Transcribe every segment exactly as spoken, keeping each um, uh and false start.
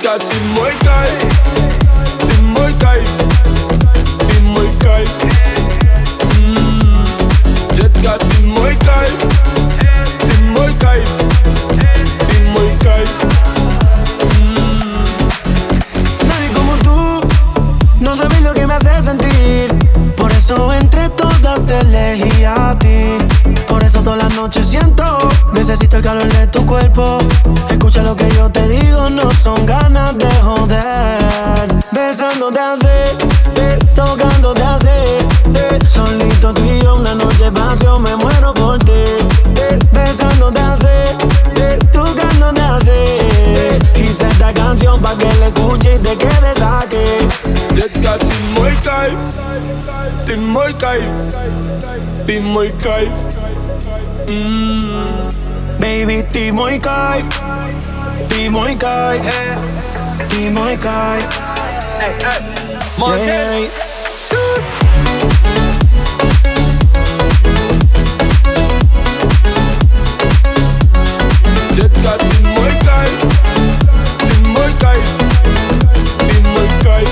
Jetka, ty mój kajf, ty mój kajf, ty mój kajf. mm. Jetka, ty mój kajf, ty mój kajf, ty mój kajf. mm. Nadie como tú, no sabes lo que me hace sentir. Por eso entre todas te elegí a ti. Por eso todas las noches siento, necesito el calor de tu cuerpo. Escucha lo que yo te digo, no son ganas de joder. Besándote así, eh, tocándote así, eh, solito tú y yo una noche pasión, me muero por ti. eh, Besándote así, eh, tocándote así, eh, hice esta canción pa' que la escuches y te quedes aquí. Jetka, ty mój kajf, ty mój kajf, ty mój kajf. mm. Baby, ty mój kajf, ty mój kajf, ty mój kajf. Hey, hey, Montana. Hey. Jetka, ty mój kajf, ty mój kajf, ty mój kajf.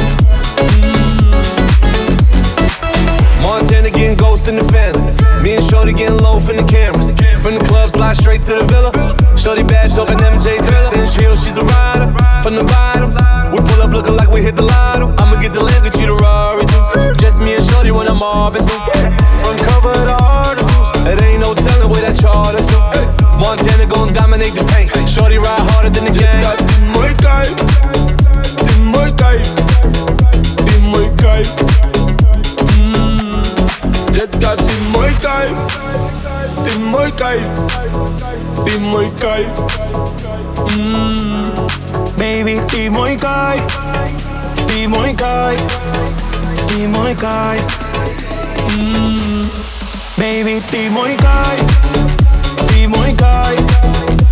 Montana getting ghost in the family. Me and Shorty getting low from the cameras. From the club, slide straight to the villa. Shorty bad talking M J Thriller. Saying she she's a rider. From the bottom, we pull up looking like we hit the lotto. I'ma get the lamb, get you the Rari too. Just me and Shorty when I'm mobbing through. Front cover of the articles. It ain't no telling where that charter to. Montana gon' dominate the paint. Shorty ride harder than the game. Jetka, ty mój kajf, ty mój kajf, ty mój kajf. mm. Jetka, ty mój kajf, ty mój kajf, ty mój kajf. mm. Baby, ty mój kajf, ty mój kajf, ty mój kajf. mm. Baby, ty mój kajf, ty mój kajf,